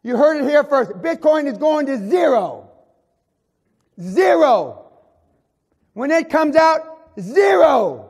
You heard it here first. Bitcoin is going to zero. Zero. When it comes out, zero.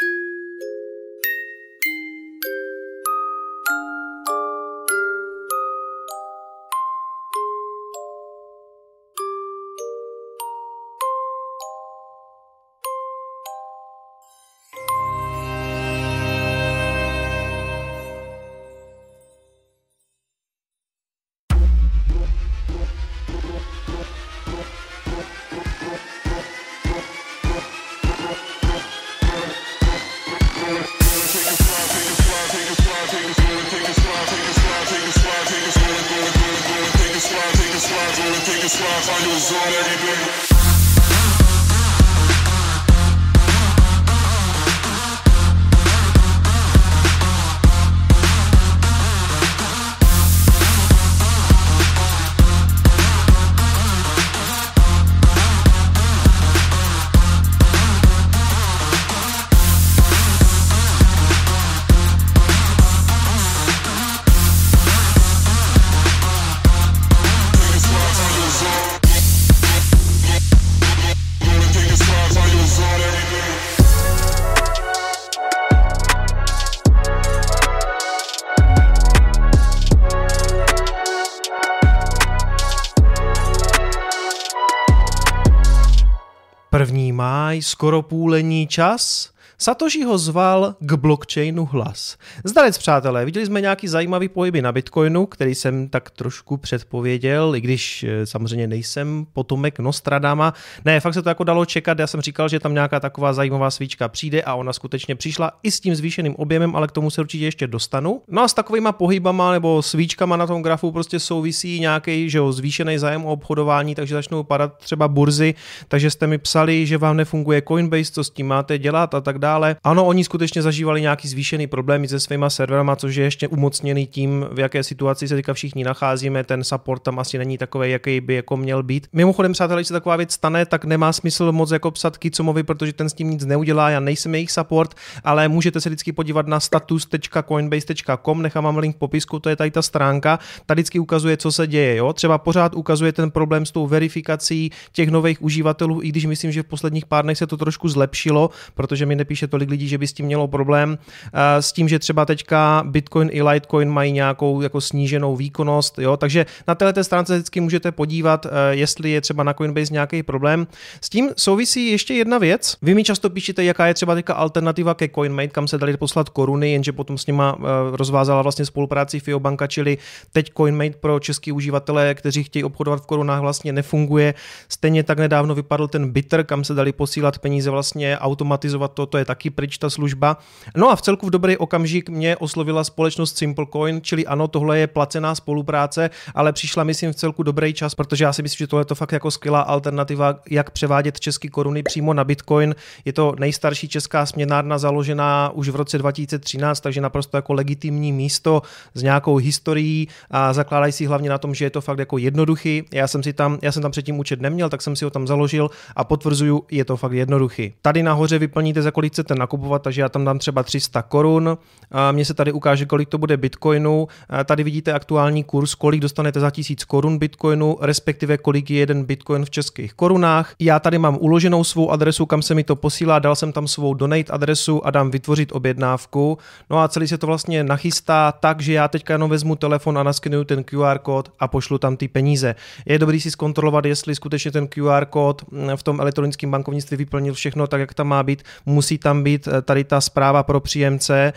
První máj, skoro půlení čas. Satoshi ho zval k blockchainu hlas. Zdarec, přátelé, viděli jsme nějaký zajímavý pohyby na Bitcoinu, který jsem tak trošku předpověděl, i když samozřejmě nejsem potomek Nostradama. Ne, fakt se to jako dalo čekat, já jsem říkal, že tam nějaká taková zajímavá svíčka přijde a ona skutečně přišla i s tím zvýšeným objemem, ale k tomu se určitě ještě dostanu. No a s takovýma pohybama nebo svíčkama na tom grafu prostě souvisí nějaký, že jo, zvýšený zájem o obchodování, takže začnou padat třeba burzy, takže jste mi psali, že vám nefunguje Coinbase, co s tím máte dělat a tak dále. Ano, oni skutečně zažívali nějaký zvýšený problémy se svýma serverama, což je ještě umocněný tím, v jaké situaci se teďka všichni nacházíme. Ten support tam asi není takový, jaký by jako měl být. Mimochodem, přátelé, když se taková věc stane, tak nemá smysl moc jako psat Kicomovi, protože ten s tím nic neudělá, já nejsem jejich support, ale můžete se vždycky podívat na status.coinbase.com, nechám vám link v popisku, to je tady ta stránka. Tady vždycky ukazuje, co se děje, jo? Třeba pořád ukazuje ten problém s tou verifikací těch nových uživatelů, i když myslím, že v posledních pár dnech se to trošku zlepšilo, protože mi nepíše tolik lidí, že by s tím mělo problém. S tím, že třeba teďka Bitcoin i Litecoin mají nějakou jako sníženou výkonnost, jo? Takže na této stránce vždycky můžete podívat, jestli je třeba na Coinbase nějaký problém. S tím souvisí ještě jedna věc. Vy mi často píšete, jaká je třeba teďka alternativa ke CoinMate, kam se dali poslat koruny, jenže potom s nima rozvázala vlastně spolupráci FIObanka, čili teď CoinMate pro český uživatele, kteří chtějí obchodovat v korunách, vlastně nefunguje. Stejně tak nedávno vypadl ten Bitter, kam se dali posílat peníze, vlastně automatizovat to je taky pryč ta služba. No a v celku v dobrý okamžik mě oslovila společnost SimpleCoin, čili ano, tohle je placená spolupráce, ale přišla myslím v celku dobrý čas, protože já si myslím, že tohle je to fakt jako skvělá alternativa, jak převádět české koruny přímo na Bitcoin. Je to nejstarší česká směnárna založená už v roce 2013, takže naprosto jako legitimní místo s nějakou historií a zakládají si hlavně na tom, že je to fakt jako jednoduchý. Já jsem tam předtím účet neměl, tak jsem si ho tam založil a potvrzuju, je to fakt jednoduchý. Tady nahoře vyplníte, za kolik chcete nakupovat, takže já tam dám třeba 300 korun. Mně se tady ukáže, kolik to bude Bitcoinu. Tady vidíte aktuální kurz, kolik dostanete za 1000 korun Bitcoinu, respektive kolik je jeden Bitcoin v českých korunách. Já tady mám uloženou svou adresu, kam se mi to posílá, dal jsem tam svou donate adresu a dám vytvořit objednávku. No a celý se to vlastně nachystá tak, že já teďka jenom vezmu telefon a naskenuju ten QR kód a pošlu tam ty peníze. Je dobrý si zkontrolovat, jestli skutečně ten QR kód v tom elektronickém bankovnictví vyplnil všechno tak, jak tam má být. Musí tam být tady ta zpráva pro příjemce,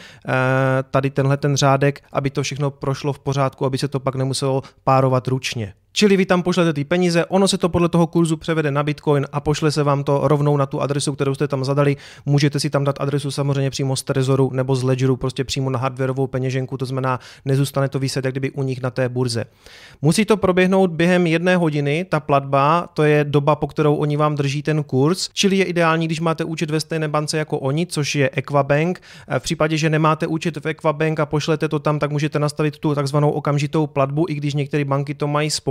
tady tenhle ten řádek, aby to všechno prošlo v pořádku, aby se to pak nemuselo párovat ručně. Čili vy tam pošlete ty peníze, ono se to podle toho kurzu převede na Bitcoin a pošle se vám to rovnou na tu adresu, kterou jste tam zadali. Můžete si tam dát adresu samozřejmě přímo z Trezoru nebo z Ledgeru, prostě přímo na hardwareovou peněženku, to znamená, nezůstane to viset jak kdyby u nich na té burze. Musí to proběhnout během 1 hodiny, ta platba, to je doba, po kterou oni vám drží ten kurz, čili je ideální, když máte účet ve stejné bance jako oni, což je Equabank. V případě, že nemáte účet v Equabank a pošlete to tam, tak můžete nastavit tu takzvanou okamžitou platbu, i když některé banky to mají s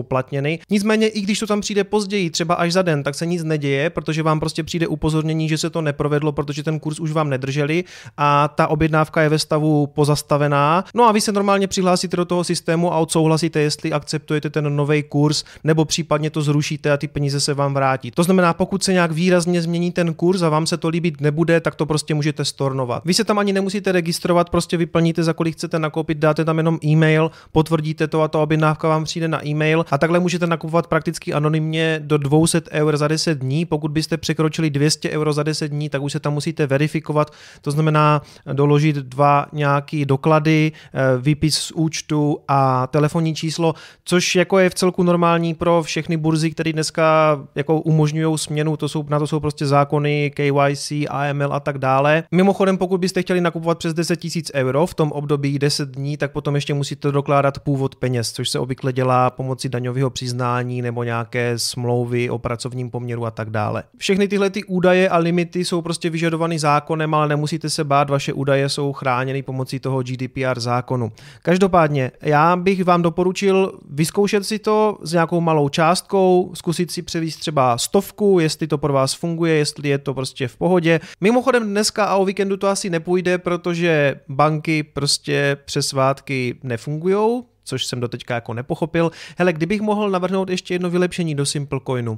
spoplatněny. Nicméně i když to tam přijde později, třeba až za den, tak se nic neděje, protože vám prostě přijde upozornění, že se to neprovedlo, protože ten kurz už vám nedrželi a ta objednávka je ve stavu pozastavená. No a vy se normálně přihlásíte do toho systému a odsouhlasíte, jestli akceptujete ten nový kurz, nebo případně to zrušíte a ty peníze se vám vrátí. To znamená, pokud se nějak výrazně změní ten kurz a vám se to líbit nebude, tak to prostě můžete stornovat. Vy se tam ani nemusíte registrovat, prostě vyplníte, za kolik chcete nakoupit, dáte tam jenom e-mail, potvrdíte to a ta objednávka vám přijde na e-mail a takhle můžete nakupovat prakticky anonymně do 200 € za 10 dní. Pokud byste překročili 200 € za 10 dní, tak už se tam musíte verifikovat, to znamená doložit 2 nějaký doklady, výpis z účtu a telefonní číslo, což jako je v celku normální pro všechny burzy, které dneska jako umožňují směnu, na to jsou prostě zákony KYC, AML a tak dále. Mimochodem, pokud byste chtěli nakupovat přes 10 000 € v tom období 10 dní, tak potom ještě musíte dokládat původ peněz, což se obvykle dělá pomocí daňového přiznání nebo nějaké smlouvy o pracovním poměru a tak dále. Všechny tyhle ty údaje a limity jsou prostě vyžadovány zákonem, ale nemusíte se bát, vaše údaje jsou chráněny pomocí toho GDPR zákonu. Každopádně, já bych vám doporučil vyzkoušet si to s nějakou malou částkou, zkusit si převést třeba 100, jestli to pro vás funguje, jestli je to prostě v pohodě. Mimochodem dneska a o víkendu to asi nepůjde, protože banky prostě přes svátky nefungujou, což jsem doteďka jako nepochopil. Hele, kdybych mohl navrhnout ještě jedno vylepšení do Simplecoinu.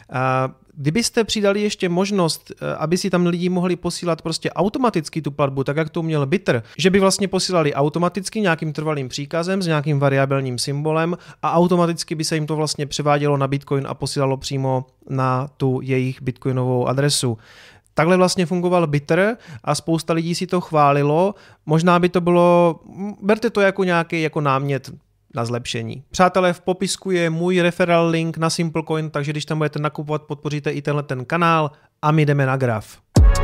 Kdybyste přidali ještě možnost, aby si tam lidi mohli posílat prostě automaticky tu platbu, tak jak to měl Bitter, že by vlastně posílali automaticky nějakým trvalým příkazem s nějakým variabilním symbolem a automaticky by se jim to vlastně převádělo na Bitcoin a posílalo přímo na tu jejich bitcoinovou adresu. Takhle vlastně fungoval Bitter a spousta lidí si to chválilo. Možná by to bylo, berte to jako nějaký jako námět na zlepšení. Přátelé, v popisku je můj referral link na Simplecoin, takže když tam budete nakupovat, podpoříte i tenhle ten kanál a my jdeme na graf.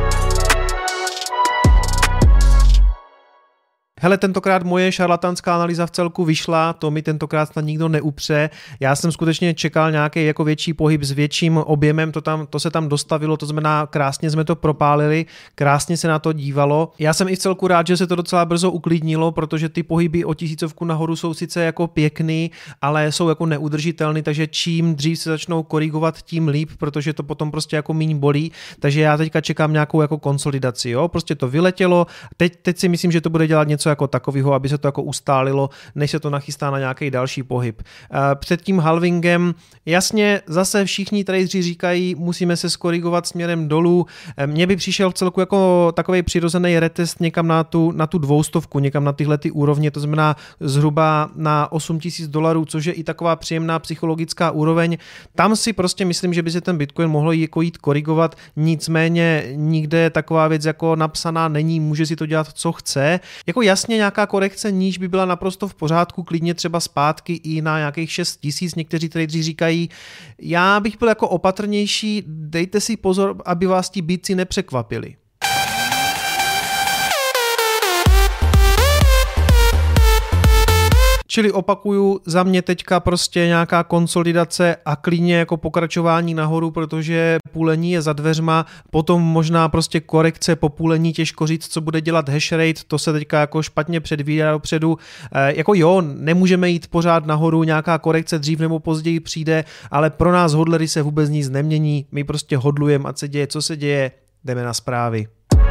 Hele, tentokrát moje šarlatánská analýza v celku vyšla, to mi tentokrát snad nikdo neupře. Já jsem skutečně čekal nějaký jako větší pohyb s větším objemem, to se tam dostavilo, to znamená krásně jsme to propálili, krásně se na to dívalo. Já jsem i v celku rád, že se to docela brzo uklidnilo, protože ty pohyby o 1000 nahoru jsou sice jako pěkný, ale jsou jako neudržitelný, takže čím dřív se začnou korigovat, tím líp, protože to potom prostě jako míň bolí. Takže já teďka čekám nějakou jako konsolidaci, jo? Prostě to vyletělo. Teď si myslím, že to bude dělat něco jako takového, aby se to jako ustálilo, než se to nachystá na nějaký další pohyb. Před tím halvingem, jasně, zase všichni tradeři říkají, musíme se skorigovat směrem dolů. Mně by přišel v celku jako takový přirozený retest někam na tu 200, někam na tyhle ty úrovně, to znamená zhruba na $8,000, což je i taková příjemná psychologická úroveň. Tam si prostě myslím, že by se ten Bitcoin mohl jako jít korigovat, nicméně nikde taková věc jako napsaná není, může si to dělat, co chce. Jako jasně nějaká korekce níž by byla naprosto v pořádku, klidně třeba zpátky i na nějakých 6 000, někteří tradeři říkají. Já bych byl jako opatrnější, dejte si pozor, aby vás ti býci nepřekvapili. Čili opakuju, za mě teďka prostě nějaká konsolidace a klidně jako pokračování nahoru, protože půlení je za dveřma, potom možná prostě korekce po půlení, těžko říct, co bude dělat hash rate, to se teďka jako špatně předvídá dopředu. Jako jo, nemůžeme jít pořád nahoru, nějaká korekce dřív nebo později přijde, ale pro nás hodlery se vůbec nic nemění, my prostě hodlujeme, ať se děje, co se děje, jdeme na zprávy.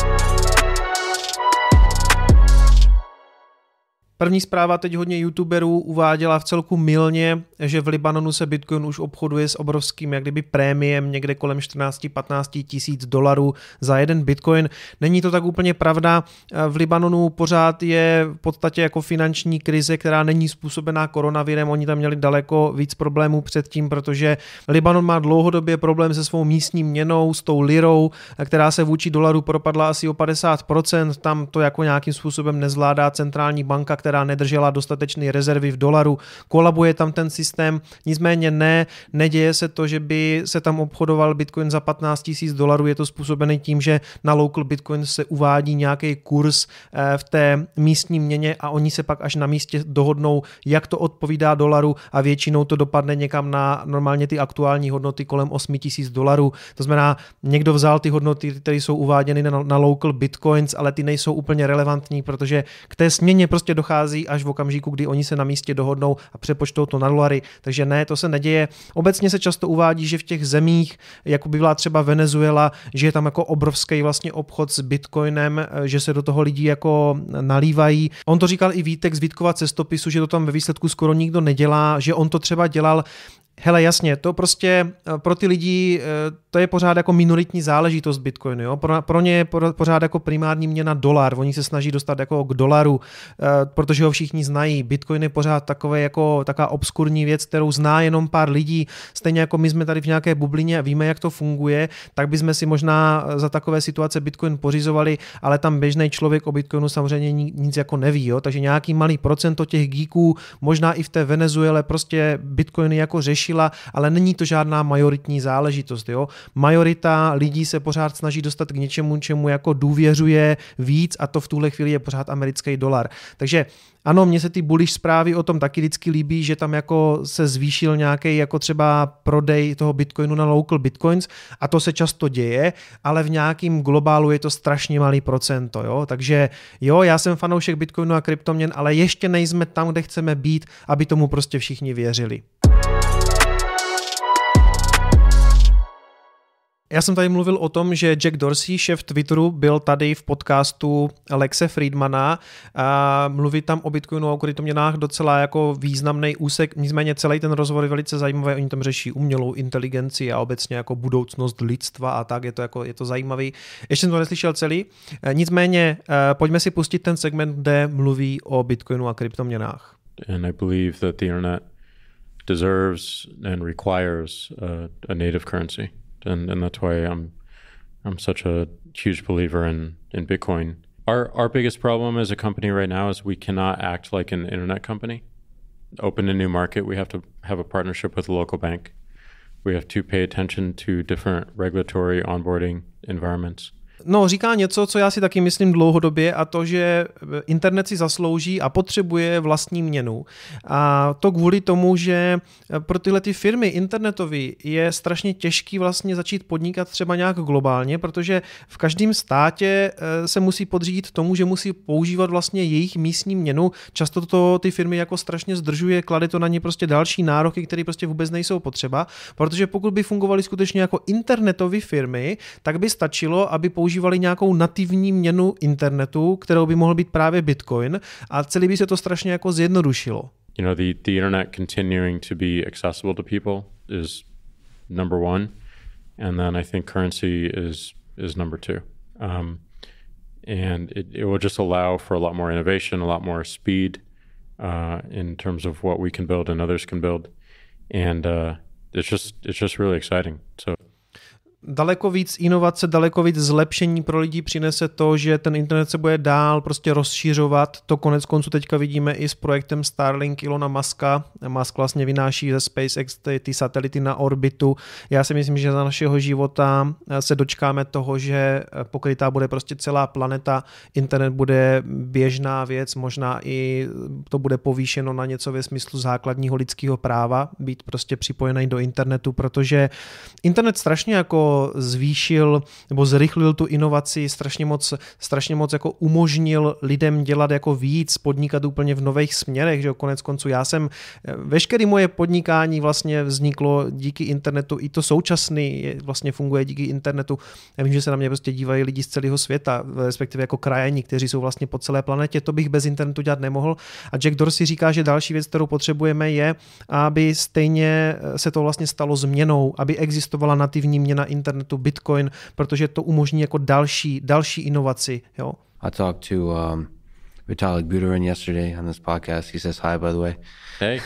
První zpráva teď hodně youtuberů uváděla v celku mylně, že v Libanonu se Bitcoin už obchoduje s obrovským jak kdyby prémiem někde kolem 14-15 tisíc dolarů za jeden Bitcoin. Není to tak úplně pravda. V Libanonu pořád je v podstatě jako finanční krize, která není způsobená koronavirem. Oni tam měli daleko víc problémů předtím, protože Libanon má dlouhodobě problém se svou místní měnou, s tou lirou, která se vůči dolaru propadla asi o 50%. Tam to jako nějakým způsobem nezvládá centrální banka, která nedržela dostatečné rezervy v dolaru, kolabuje tam ten systém, nicméně neděje se to, že by se tam obchodoval Bitcoin za 15 tisíc dolarů, je to způsobené tím, že na local Bitcoin se uvádí nějaký kurz v té místní měně a oni se pak až na místě dohodnou, jak to odpovídá dolaru a většinou to dopadne někam na normálně ty aktuální hodnoty kolem 8 tisíc dolarů. To znamená, někdo vzal ty hodnoty, které jsou uváděny na local Bitcoins, ale ty nejsou úplně relevantní, protože k té směně prostě dochází přichází až v okamžiku, kdy oni se na místě dohodnou a přepočtou to na dolary. Takže ne, to se neděje. Obecně se často uvádí, že v těch zemích, jako by byla třeba Venezuela, že je tam jako obrovský vlastně obchod s bitcoinem, že se do toho lidi jako nalívají. On to říkal i Vítek z Vítkova cestopisu, že to tam ve výsledku skoro nikdo nedělá, že on to třeba dělal. Hele, jasně, to prostě pro ty lidi, to je pořád jako minoritní záležitost Bitcoinu, jo? Pro ně je pořád jako primární měna dolar, oni se snaží dostat jako k dolaru, protože ho všichni znají. Bitcoin je pořád takové jako taková obskurní věc, kterou zná jenom pár lidí, stejně jako my jsme tady v nějaké bublině a víme, jak to funguje, tak bychom si možná za takové situace Bitcoin pořizovali, ale tam běžný člověk o Bitcoinu samozřejmě nic jako neví, jo? Takže nějaký malý procento těch geeků, možná i v té Venezuele prostě Bitcoiny jako řeší, ale není to žádná majoritní záležitost. Jo? Majorita lidí se pořád snaží dostat k něčemu, čemu jako důvěřuje víc a to v tuhle chvíli je pořád americký dolar. Takže ano, mně se ty bullish zprávy o tom taky vždycky líbí, že tam jako se zvýšil nějaký jako třeba prodej toho Bitcoinu na local Bitcoins a to se často děje, ale v nějakým globálu je to strašně malý procento. Jo? Takže jo, já jsem fanoušek Bitcoinu a kryptoměn, ale ještě nejsme tam, kde chceme být, aby tomu prostě všichni věřili. Já jsem tady mluvil o tom, že Jack Dorsey, šéf Twitteru, byl tady v podcastu Lexe Friedmana a mluví tam o Bitcoinu a o kryptoměnách docela jako významný úsek, nicméně celý ten rozhovor je velice zajímavý, oni tam řeší umělou inteligenci a obecně jako budoucnost lidstva a tak, je to zajímavý. Ještě jsem to neslyšel celý, nicméně pojďme si pustit ten segment, kde mluví o Bitcoinu a kryptoměnách. And I believe that the internet deserves and requires a native currency. And that's why I'm such a huge believer in Bitcoin. Our biggest problem as a company right now is we cannot act like an internet company. Open a new market, we have to have a partnership with a local bank. We have to pay attention to different regulatory onboarding environments. No, říká něco, co já si taky myslím dlouhodobě, a to, že internet si zaslouží a potřebuje vlastní měnu. A to kvůli tomu, že pro tyhle ty firmy internetové je strašně těžký vlastně začít podnikat třeba nějak globálně, protože v každém státě se musí podřídit tomu, že musí používat vlastně jejich místní měnu. Často to ty firmy jako strašně zdržuje, klade to na ně prostě další nároky, které prostě vůbec nejsou potřeba, protože pokud by fungovaly skutečně jako internetové firmy, tak by stačilo, aby používali nějakou nativní měnu internetu, kterou by mohl být právě Bitcoin a celý by se to strašně jako zjednodušilo. You know, the internet continuing to be accessible to people is number one, and then I think currency is number two. And it will just allow for a lot more innovation, a lot more speed in terms of what we can build and others can build. And it's just really exciting. So daleko víc inovace, daleko víc zlepšení pro lidi přinese to, že ten internet se bude dál prostě rozšiřovat. To konec konců teďka vidíme i s projektem Starlink Elona Muska. Musk vlastně vynáší ze SpaceX ty satelity na orbitu. Já si myslím, že za našeho života se dočkáme toho, že pokrytá bude prostě celá planeta. Internet bude běžná věc, možná i to bude povýšeno na něco ve smyslu základního lidského práva, být prostě připojený do internetu, protože internet strašně jako zvýšil nebo zrychlil tu inovaci, strašně moc jako umožnil lidem dělat jako víc, podnikat úplně v nových směrech, že konec konců veškeré moje podnikání vlastně vzniklo díky internetu, i to současný vlastně funguje díky internetu. Já vím, že se na mě prostě dívají lidi z celého světa, respektive jako krajani, kteří jsou vlastně po celé planetě, to bych bez internetu dělat nemohl. A Jack Dorsey říká, že další věc, kterou potřebujeme, je, aby stejně se to vlastně stalo změnou, aby existovala nativní měna internetu Bitcoin, protože to umožní jako další inovaci. Jo. I talked to Vitalik Buterin yesterday on this podcast. He says hi, by the way. Hey.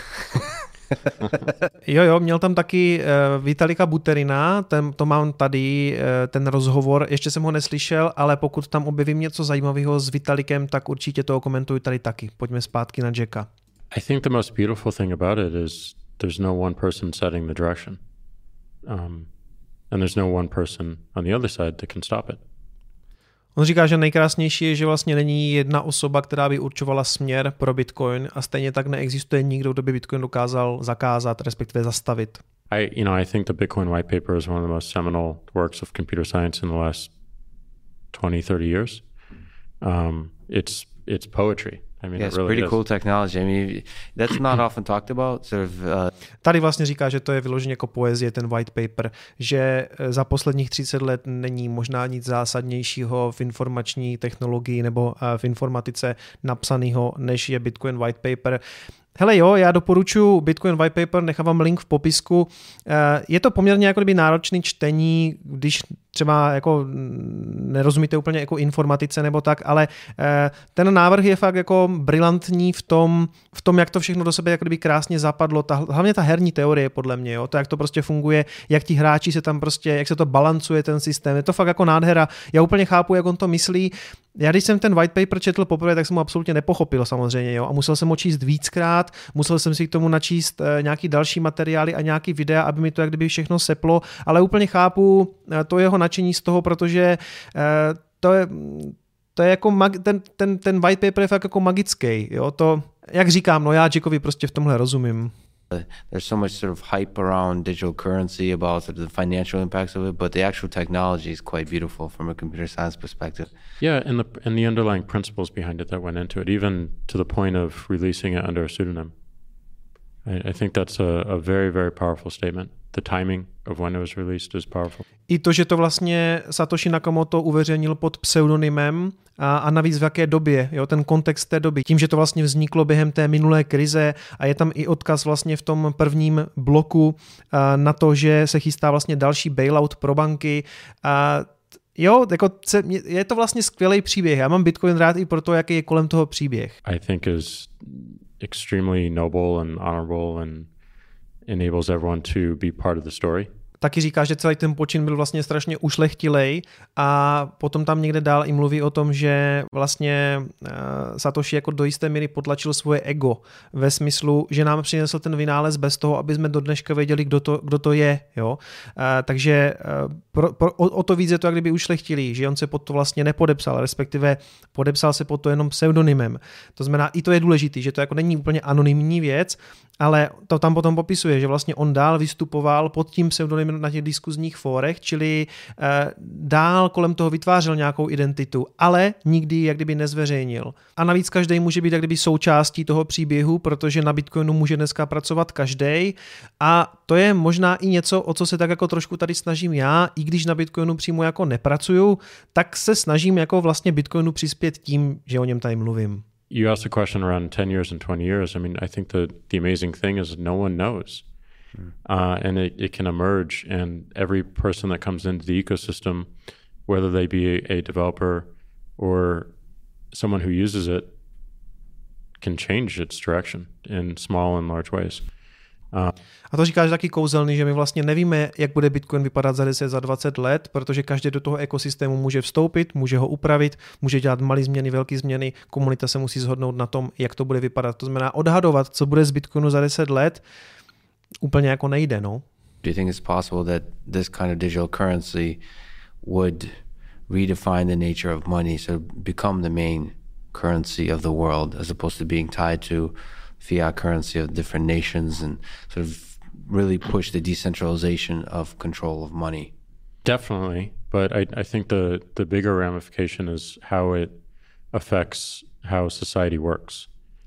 Jo, měl tam taky Vitalika Buterina, to mám tady, ten rozhovor, ještě jsem ho neslyšel, ale pokud tam objevím něco zajímavého s Vitalikem, tak určitě to komentuju tady taky. Pojďme zpátky na Jacka. I think the most beautiful thing about it is there's no one person setting the direction. And there's no one person on the other side that can stop it. On říká, že nejkrásnější je, že vlastně není jedna osoba, která by určovala směr pro Bitcoin a stejně tak neexistuje nikdo, kdo by Bitcoin dokázal zakázat, respektive zastavit. I think the Bitcoin white paper is one of the most seminal works of computer science in the last 20-30 years. It's poetry. I mean, Yeah, it's it really pretty is. cool technology. I mean, that's not often talked about. Sort of. Tady vlastně říká, že to je vyloženě jako poezie, ten white paper, že za posledních 30 let není možná nic zásadnějšího v informační technologii nebo v informatice napsaného, než je Bitcoin white paper. Hele jo, já doporučuji Bitcoin White Paper, nechávám link v popisku. Je to poměrně jako kdyby náročný čtení, když třeba jako nerozumíte úplně jako informatice nebo tak, ale ten návrh je fakt jako brilantní v tom, jak to všechno do sebe jako kdyby krásně zapadlo. Hlavně ta herní teorie podle mě, jo, to jak to prostě funguje, jak ti hráči se tam prostě, jak se to balancuje ten systém. Je to fakt jako nádhera. Já úplně chápu, jak on to myslí. Já když jsem ten white paper četl poprvé, tak jsem ho absolutně nepochopil samozřejmě, jo, a musel jsem ho číst víckrát, musel jsem si k tomu načíst nějaký další materiály a nějaký videa, aby mi to jak kdyby všechno seplo, ale úplně chápu to jeho nadšení z toho, protože to je jako ten white paper je fakt jako magický, jo, to, jak říkám, no já Jackovi prostě v tomhle rozumím. There's so much sort of hype around digital currency about sort of the financial impacts of it, but the actual technology is quite beautiful from a computer science perspective. Yeah, and the underlying principles behind it that went into it, even to the point of releasing it under a pseudonym. I think that's a very, very powerful statement. The timing of when it was released is powerful. I to, že to vlastně Satoshi Nakamoto uveřejnil pod pseudonymem a navíc v jaké době, jo, ten kontext té doby. Tím, že to vlastně vzniklo během té minulé krize a je tam i odkaz vlastně v tom prvním bloku na to, že se chystá vlastně další bailout pro banky. Jo, jako je to vlastně skvělý příběh. Já mám Bitcoin rád i proto, jaký je kolem toho příběh. I think is extremely noble and honorable and enables everyone to be part of the story. Taky říká, že celý ten počin byl vlastně strašně ušlechtilej a potom tam někde dál i mluví o tom, že vlastně Satoshi jako do jisté míry potlačil svoje ego ve smyslu, že nám přinesl ten vynález bez toho, aby jsme do dneška věděli, kdo to je. Jo? Takže o to víc je to jak kdyby ušlechtilý, že on se pod to vlastně nepodepsal, respektive podepsal se pod to jenom pseudonymem. To znamená, i to je důležitý, že to jako není úplně anonymní věc, ale to tam potom popisuje, že vlastně on dál vystupoval pod tím pseudonymem na těch diskuzních fórech, čili dál kolem toho vytvářel nějakou identitu, ale nikdy jak kdyby nezveřejnil. A navíc každý může být jak kdyby součástí toho příběhu, protože na Bitcoinu může dneska pracovat každý. A to je možná i něco, o co se tak jako trošku tady snažím já, i když na Bitcoinu přímo jako nepracuju, tak se snažím jako vlastně Bitcoinu přispět tím, že o něm tady mluvím. You asked a question around 10 years and 20 years. I mean, I think the amazing thing is no one knows. And it can emerge, and every person that comes into the ecosystem, whether they be a developer or someone who uses it, can change its direction in small and large ways. A to říkáš taky kouzelný, že my vlastně nevíme, jak bude Bitcoin vypadat za 10, za 20 let, protože každý do toho ekosystému může vstoupit, může ho upravit, může dělat malé změny, velké změny, komunita se musí shodnout na tom, jak to bude vypadat. To znamená odhadovat, co bude z Bitcoinu za 10 let, úplně jako nejde, no. Do you think it's possible that this kind of digital currency would redefine the nature of money, so become the main currency of the world as opposed to being tied to fiat currency of different nations and sort of really push the decentralization of control of money? Definitely, but I think the bigger ramification is how it affects how society works.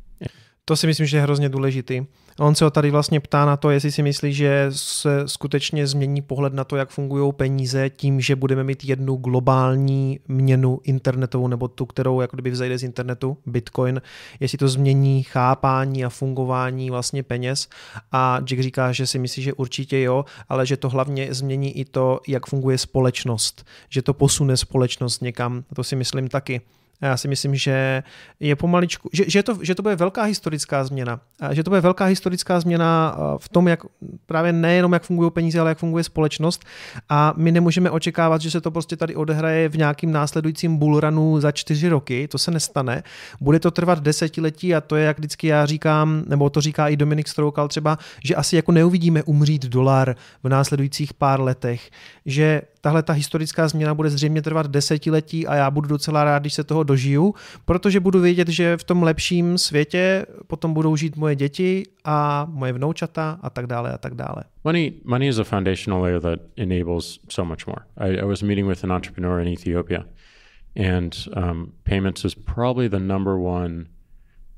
To si myslím, že je hrozně důležitý. On se ho tady vlastně ptá na to, jestli si myslí, že se skutečně změní pohled na to, jak fungují peníze tím, že budeme mít jednu globální měnu internetovou nebo tu, kterou jako kdyby vzejde z internetu, Bitcoin, jestli to změní chápání a fungování vlastně peněz. A Jack říká, že si myslí, že určitě jo, ale že to hlavně změní i to, jak funguje společnost, že to posune společnost někam. To si myslím taky. Já si myslím, že je pomaličku, že to bude velká historická změna. Že to bude velká historická změna v tom, jak právě nejenom jak fungují peníze, ale jak funguje společnost. A my nemůžeme očekávat, že se to prostě tady odehraje v nějakým následujícím bullrunu za 4 roky. To se nestane. Bude to trvat desetiletí a to je, jak vždycky já říkám, nebo to říká i Dominik Stroukal třeba, že asi jako neuvidíme umřít dolar v následujících pár letech. Že tahle ta historická změna bude zřejmě trvat desetiletí a já budu docela rád, když se toho dožiju, protože budu vědět, že v tom lepším světě potom budou žít moje děti a moje vnoučata a tak dále a tak dále. Money is a foundational layer that enables so much more. I was meeting with an entrepreneur in Ethiopia, and payments is probably the number one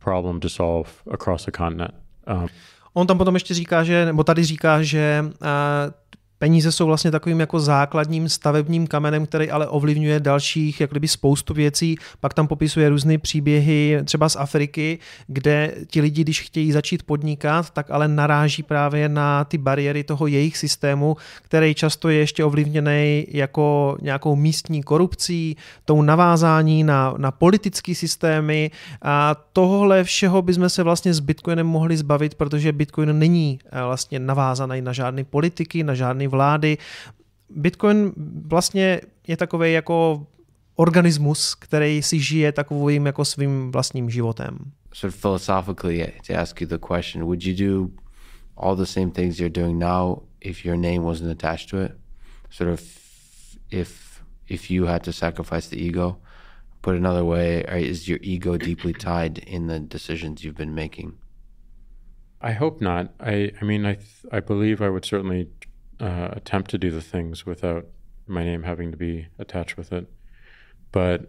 problem to solve across the continent. On tam potom ještě říká, nebo tady říká, že peníze jsou vlastně takovým jako základním stavebním kamenem, který ale ovlivňuje dalších jak kdyby spoustu věcí. Pak tam popisuje různé příběhy třeba z Afriky, kde ti lidi, když chtějí začít podnikat, tak ale naráží právě na ty bariéry toho jejich systému, který často je ještě ovlivněný jako nějakou místní korupcí, tou navázání na politické systémy a tohle všeho bychom se vlastně s Bitcoinem mohli zbavit, protože Bitcoin není vlastně navázaný na žádné politiky, na žádné vlády. Bitcoin vlastně je takový jako organismus, který si žije takovým jako svým vlastním životem. Sort of philosophically, to ask you the question, would you do all the same things you're doing now if your name wasn't attached to it? Sort of if you had to sacrifice the ego? Put another way, is your ego deeply tied in the decisions you've been making? I hope not. I believe I would certainly attempt to do the things without my name having to be attached with it. But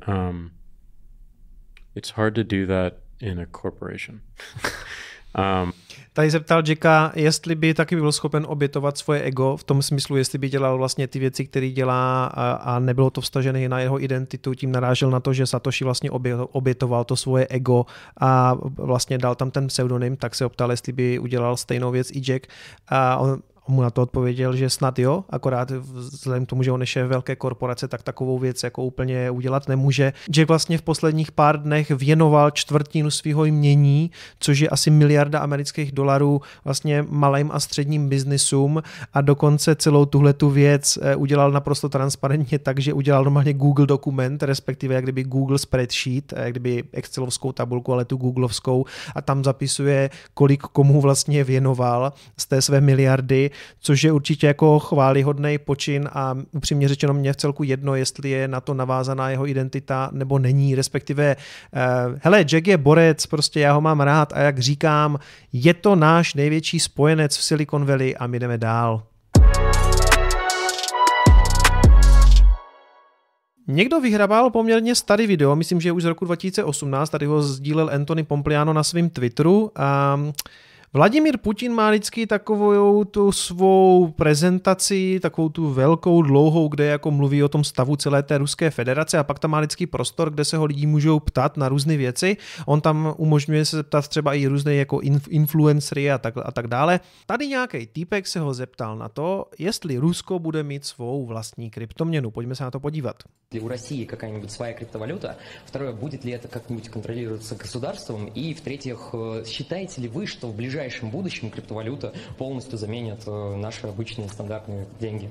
it's hard to do that in a corporation. Tady se ptal Jacka, jestli by taky byl schopen obětovat svoje ego, v tom smyslu, jestli by dělal vlastně ty věci, které dělá a nebylo to vztažené na jeho identitu, tím narážel na to, že Satoshi vlastně obětoval to svoje ego a vlastně dal tam ten pseudonym, tak se optal, jestli by udělal stejnou věc i Jack. A on mu na to odpověděl, že snad jo, akorát vzhledem k tomu, že on je šéf velké korporace, tak takovou věc jako úplně udělat nemůže. Jack vlastně v posledních pár dnech věnoval čtvrtinu svého jmění, což je asi $1 miliarda amerických dolarů vlastně malým a středním biznisům a dokonce celou tuhletu věc udělal naprosto transparentně tak, že udělal normálně Google dokument, respektive jak kdyby Google spreadsheet, jak kdyby excelovskou tabulku, ale tu googlovskou a tam zapisuje, kolik komu vlastně věnoval z té své miliardy, což je určitě jako chvályhodný počin a upřímně řečeno mě v celku jedno, jestli je na to navázaná jeho identita nebo není, respektive hele, Jack je borec, prostě já ho mám rád a jak říkám, je to náš největší spojenec v Silicon Valley a my jdeme dál. Někdo vyhrabal poměrně starý video, myslím, že už z roku 2018, tady ho sdílel Anthony Pompliano na svém Twitteru a Vladimír Putin má vždycky takovou tu svou prezentaci, takovou tu velkou, dlouhou, kde jako mluví o tom stavu celé té Ruské federace a pak tam má vždycky prostor, kde se ho lidi můžou ptat na různé věci. On tam umožňuje se zeptat třeba i různé jako influencery a tak dále. Tady nějaký týpek se ho zeptal na to, jestli Rusko bude mít svou vlastní kryptoměnu. Pojďme se na to podívat. У России какая-нибудь своя криптовалюта, второе, будет ли это как-нибудь контролироваться государством, и в-третьих, считаете ли вы, что в ближайшем будущем криптовалюта полностью заменит наши обычные стандартные деньги?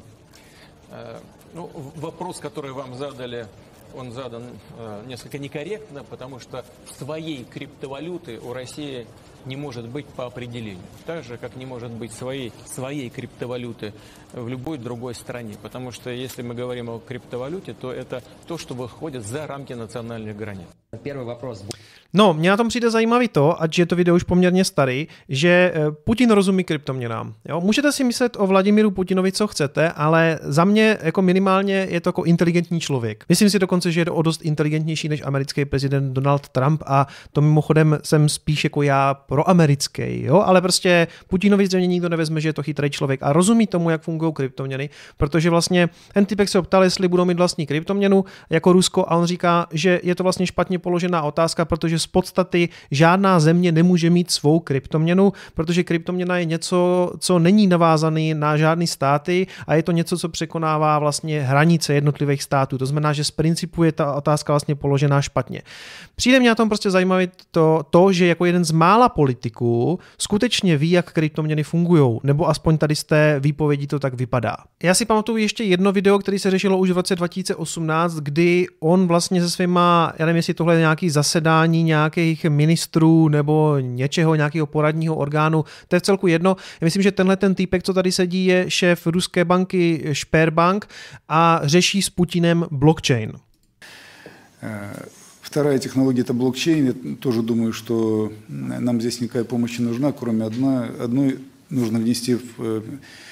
Ну, вопрос, который вам задали, он задан несколько некорректно, потому что своей криптовалюты у России не может быть по определению. Так же, как не может быть своей криптовалюты в любой другой стране. Потому что если мы говорим о криптовалюте, то это то, что выходит за рамки национальных границ. Первый вопрос. No, mně na tom přijde zajímavý to, ať je to video už poměrně starý, že Putin rozumí kryptoměnám. Jo? Můžete si myslet o Vladimíru Putinovi, co chcete, ale za mě jako minimálně je to jako inteligentní člověk. Myslím si dokonce, že je to o dost inteligentnější než americký prezident Donald Trump a to mimochodem jsem spíš jako já proamerický, jo? Ale prostě Putinovi zřejmě nikdo nevezme, že je to chytrý člověk a rozumí tomu, jak fungují kryptoměny, protože vlastně ten typek se optal, jestli budou mít vlastní kryptoměnu jako Rusko a on říká, že je to vlastně špatně položená otázka, protože z podstaty žádná země nemůže mít svou kryptoměnu, protože kryptoměna je něco, co není navázaný na žádný státy a je to něco, co překonává vlastně hranice jednotlivých států. To znamená, že z principu je ta otázka vlastně položená špatně. Přijde mě na tom prostě zajímavé to, že jako jeden z mála politiků skutečně ví, jak kryptoměny fungují, nebo aspoň tady z té výpovědi to tak vypadá. Já si pamatuju ještě jedno video, které se řešilo už v roce 2018, kdy on vlastně se svýma, já nevím, jestli tohle je nějaký zasedání nějakých ministrů nebo něčeho, nějakého poradního orgánu, to je v celku jedno. Já myslím, že tenhle ten týpek, co tady sedí, je šéf ruské banky Sberbank a řeší s Putinem blockchain. Вторая технология – это блокчейн. Я тоже думаю, что нам здесь никакая помощь не нужна, кроме одной нужно внести в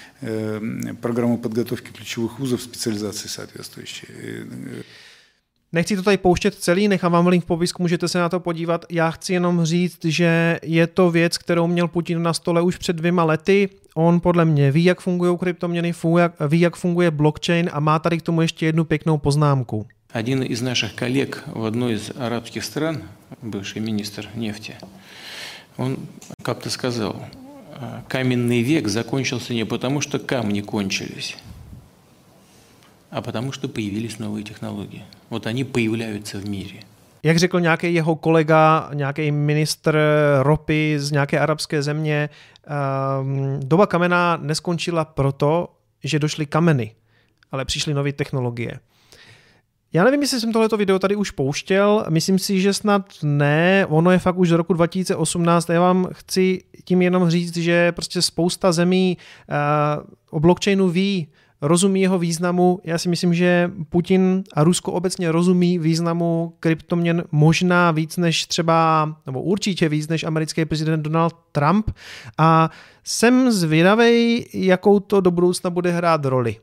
программу подготовки ключевых вузов специализации соответствующие. Nechci to tady pouštět celý, nechám vám link v popisku, můžete se na to podívat. Já chci jenom říct, že je to věc, kterou měl Putin na stole už před 2 lety. On podle mě ví, jak fungují kryptoměny, ví, jak funguje blockchain a má tady k tomu ještě jednu pěknou poznámku. Один из наших коллег в одной из арабских стран, бывший министр нефти, он как-то сказал, каменный век закончился не потому, что камни кончились, а потому, что появились новые технологии. Вот они появляются в мире. Jak řekl nějaký jeho kolega, nějaký ministr ropy z nějaké arabské země, doba kamená neskončila proto, že došly kameny, ale přišly nové technologie. Já nevím, jestli jsem tohleto video tady už pouštěl, myslím si, že snad ne, ono je fakt už z roku 2018 a já vám chci tím jenom říct, že prostě spousta zemí o blockchainu ví, rozumí jeho významu. Já si myslím, že Putin a Rusko obecně rozumí významu kryptoměn možná víc než třeba, nebo určitě víc než americký prezident Donald Trump a jsem zvědavej, jakou to do budoucna bude hrát roli.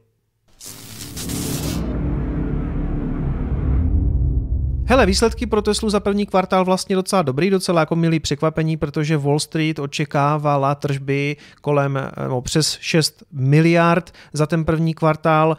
Hele, výsledky pro Teslu za první kvartál vlastně docela dobrý, docela jako milý překvapení, protože Wall Street očekávala tržby kolem přes 6 miliard za ten první kvartál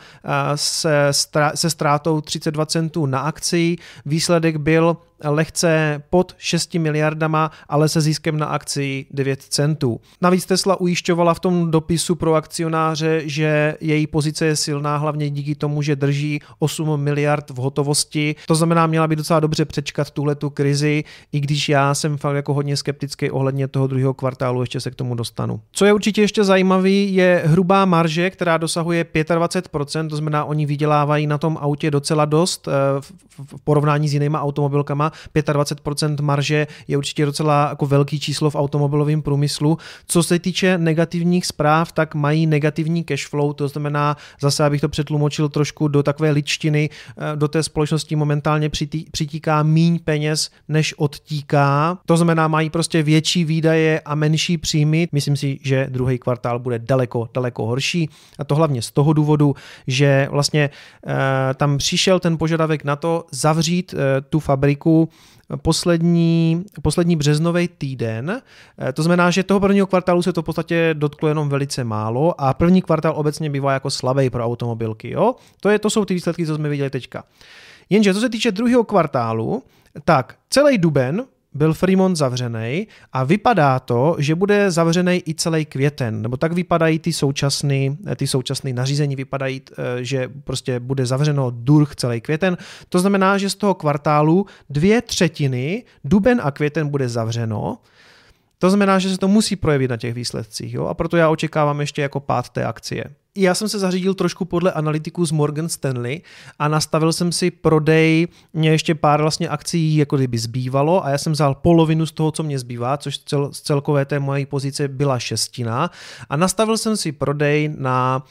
se ztrátou 32 centů na akci. Výsledek byl lehce pod 6 miliardama, ale se ziskem na akci 9 centů. Navíc Tesla ujišťovala v tom dopisu pro akcionáře, že její pozice je silná, hlavně díky tomu, že drží 8 miliard v hotovosti. To znamená, měla by docela dobře přečkat tuhletu krizi, i když já jsem fakt jako hodně skeptický ohledně toho druhého kvartálu, ještě se k tomu dostanu. Co je určitě ještě zajímavý, je hrubá marže, která dosahuje 25%, to znamená, oni vydělávají na tom autě docela dost v porovnání s jinýma automobilkama. 25% marže je určitě docela jako velký číslo v automobilovém průmyslu. Co se týče negativních zpráv, tak mají negativní cash flow, to znamená, zase abych to přetlumočil trošku do takové ličtiny, do té společnosti momentálně přitíká míň peněz, než odtíká. To znamená, mají prostě větší výdaje a menší příjmy. Myslím si, že druhý kvartál bude daleko horší a to hlavně z toho důvodu, že vlastně tam přišel ten požadavek na to zavřít tu fabriku poslední březnový týden. To znamená, že toho prvního kvartálu se to v podstatě dotklo jenom velice málo a první kvartál obecně bývá jako slabý pro automobilky. Jo? To jsou ty výsledky, co jsme viděli teďka. Jenže co se týče druhého kvartálu, tak celý duben byl Fremont zavřený a vypadá to, že bude zavřený i celý květen, nebo tak vypadají ty současné nařízení, vypadají, že prostě bude zavřeno durch celý květen. To znamená, že z toho kvartálu 2/3, duben a květen, bude zavřeno. To znamená, že se to musí projevit na těch výsledcích, jo? A proto já očekávám ještě jako pád té akcie. Já jsem se zařídil trošku podle analytiků z Morgan Stanley a nastavil jsem si prodej, mě ještě pár vlastně akcí jako kdyby zbývalo a já jsem vzal polovinu z toho, co mě zbývá, což z celkové té mojí pozice byla 1/6 a nastavil jsem si prodej na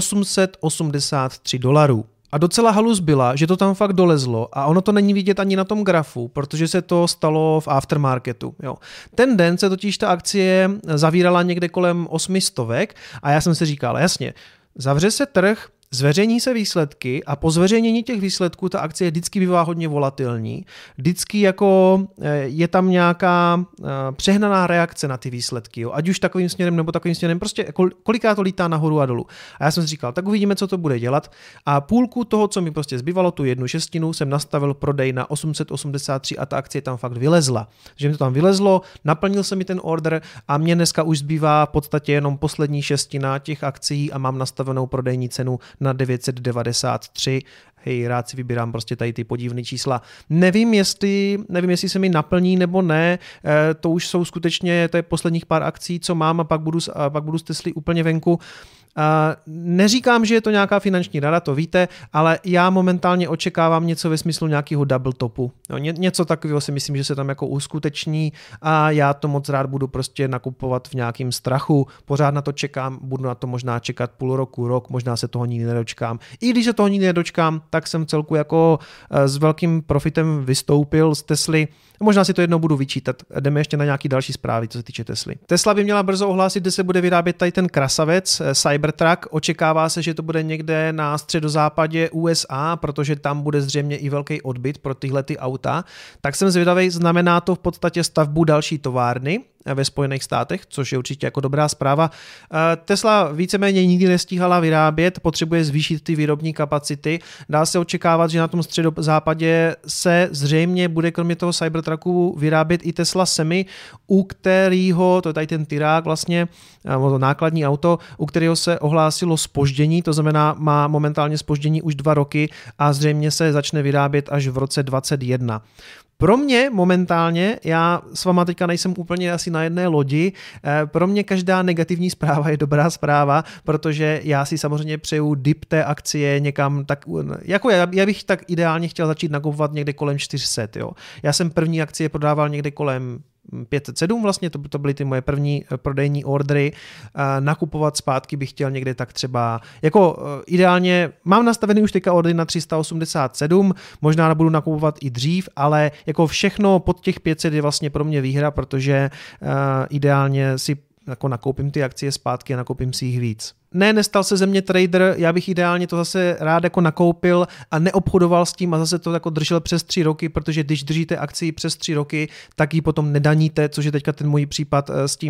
$883. A docela halus byla, že to tam fakt dolezlo a ono to není vidět ani na tom grafu, protože se to stalo v aftermarketu. Jo. Ten den se totiž ta akcie zavírala někde kolem 800 a já jsem si říkal, jasně, zavře se trh, zveřejní se výsledky a po zveřejnění těch výsledků ta akcie vždycky bývá hodně volatilní. Vždycky jako je tam nějaká přehnaná reakce na ty výsledky. Jo? Ať už takovým směrem nebo takovým směrem. Prostě kolikrát to lítá nahoru a dolů. A já jsem si říkal, tak uvidíme, co to bude dělat. A půlku toho, co mi prostě zbývalo, tu 1/6, jsem nastavil prodej na 883 a ta akcie tam fakt vylezla. Že mi to tam vylezlo, naplnil se mi ten order a mě dneska už zbývá v podstatě jenom poslední 1/6 těch akcí a mám nastavenou prodejní cenu na 993. Hej, rád si vybírám prostě tady ty podivné čísla. Nevím, jestli se mi naplní nebo ne, to už jsou skutečně, to je posledních pár akcí, co mám a pak budu z Tesly úplně venku. Neříkám, že je to nějaká finanční rada, to víte, ale já momentálně očekávám něco ve smyslu nějakého double topu. No, něco takového si myslím, že se tam jako uskuteční a já to moc rád budu prostě nakupovat v nějakém strachu. Pořád na to čekám, budu na to možná čekat půl roku, rok, možná se toho nikdy nedočkám. I když se toho nikdy nedočkám, tak jsem celku jako s velkým profitem vystoupil z Tesly. Možná si to jednou budu vyčítat. Jdeme ještě na nějaký další zprávy, co se týče Tesly. Tesla by měla brzo ohlásit, kde se bude vyrábět tady ten krasavec Cybertruck. Očekává se, že to bude někde na středozápadě USA, protože tam bude zřejmě i velký odbyt pro tyhle ty auta. Tak jsem zvědavý, znamená to v podstatě stavbu další továrny ve Spojených státech, což je určitě jako dobrá zpráva. Tesla víceméně nikdy nestíhala vyrábět, potřebuje zvýšit ty výrobní kapacity. Dá se očekávat, že na tom středozápadě se zřejmě bude kromě toho Cybertrucku vyrábět i Tesla Semi, u kterého, to je tady ten Tyrák vlastně, to nákladní auto, u kterého se ohlásilo zpoždění, to znamená má momentálně zpoždění už 2 roky a zřejmě se začne vyrábět až v roce 2021. Pro mě momentálně, já s váma teďka nejsem úplně asi na jedné lodi, pro mě každá negativní zpráva je dobrá zpráva, protože já si samozřejmě přeju dip té akcie někam tak, jako já bych tak ideálně chtěl začít nakupovat někde kolem 400, jo. Já jsem první akcie prodával někde kolem 507 vlastně, to byly ty moje první prodejní ordery. Nakupovat zpátky bych chtěl někde tak třeba, jako ideálně, mám nastavený už teďka ordery na 387, možná budu nakupovat i dřív, ale jako všechno pod těch 500 je vlastně pro mě výhra, protože ideálně si jako nakoupím ty akcie zpátky a nakoupím si jich víc. Ne, nestal se ze mě trader, já bych ideálně to zase rád jako nakoupil a neobchodoval s tím a zase to jako držel přes 3 roky, protože když držíte akcii přes 3 roky, tak ji potom nedaníte, což je teďka ten můj případ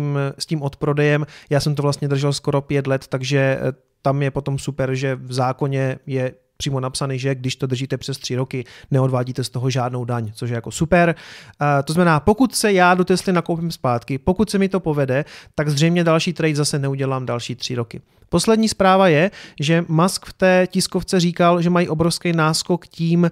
s tím odprodejem. Já jsem to vlastně držel skoro 5 let, takže tam je potom super, že v zákoně je přímo napsaný, že když to držíte přes 3 roky, neodvádíte z toho žádnou daň, což je jako super. To znamená, pokud se já do Tesly nakoupím zpátky, pokud se mi to povede, tak zřejmě další trade zase neudělám další 3 roky. Poslední zpráva je, že Musk v té tiskovce říkal, že mají obrovský náskok tím,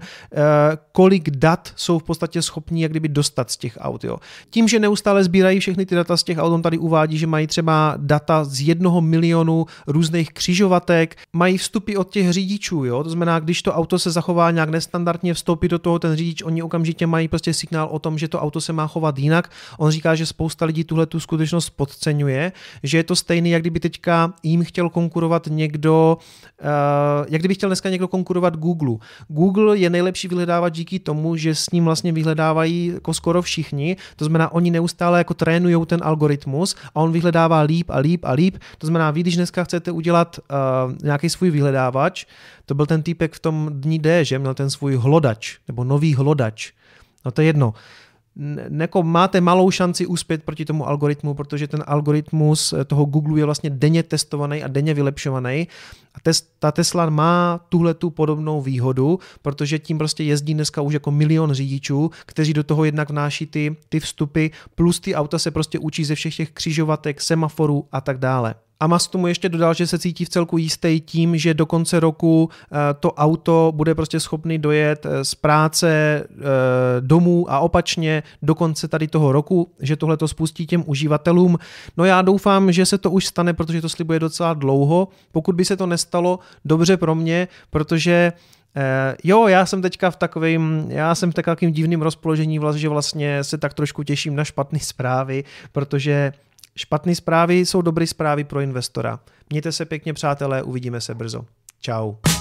kolik dat jsou v podstatě schopní jak kdyby dostat z těch aut. Jo. Tím, že neustále sbírají všechny ty data z těch aut, on tady uvádí, že mají třeba data z 1 milionu různých křižovatek, mají vstupy od těch řidičů, jo. To znamená, když to auto se zachová nějak nestandardně, vstoupí do toho ten řidič, oni okamžitě mají prostě signál o tom, že to auto se má chovat jinak. On říká, že spousta lidí tuhle tu skutečnost podceňuje, že je to stejný, jak kdyby teďka jim chtěl konkurovat někdo, jak kdyby chtěl dneska někdo konkurovat Google. Google je nejlepší vyhledávač díky tomu, že s ním vlastně vyhledávají jako skoro všichni, to znamená, oni neustále jako trénujou ten algoritmus a on vyhledává líp a líp a líp, to znamená, vy, když dneska chcete udělat nějaký svůj vyhledávač, to byl ten týpek v tom dní D, že měl ten svůj hlodač, nebo nový hlodač, no to je jedno. Máte malou šanci uspět proti tomu algoritmu, protože ten algoritmus toho Google je vlastně denně testovaný a denně vylepšovaný. A ta Tesla má tuhletu podobnou výhodu, protože tím prostě jezdí dneska už jako 1 milion řidičů, kteří do toho jednak vnáší ty vstupy, plus ty auta se prostě učí ze všech těch křižovatek, semaforů a tak dále. A Musk tomu ještě dodal, že se cítí v celku jistý tím, že do konce roku to auto bude prostě schopný dojet z práce domů a opačně do konce tady toho roku, že tohle to spustí těm uživatelům. No já doufám, že se to už stane, protože to slibuje docela dlouho. Pokud by se to nestalo, dobře pro mě, protože já jsem teďka v takovým divným rozpoložení, že vlastně se tak trošku těším na špatné zprávy, protože špatné zprávy jsou dobré zprávy pro investora. Mějte se pěkně, přátelé, uvidíme se brzo. Čau.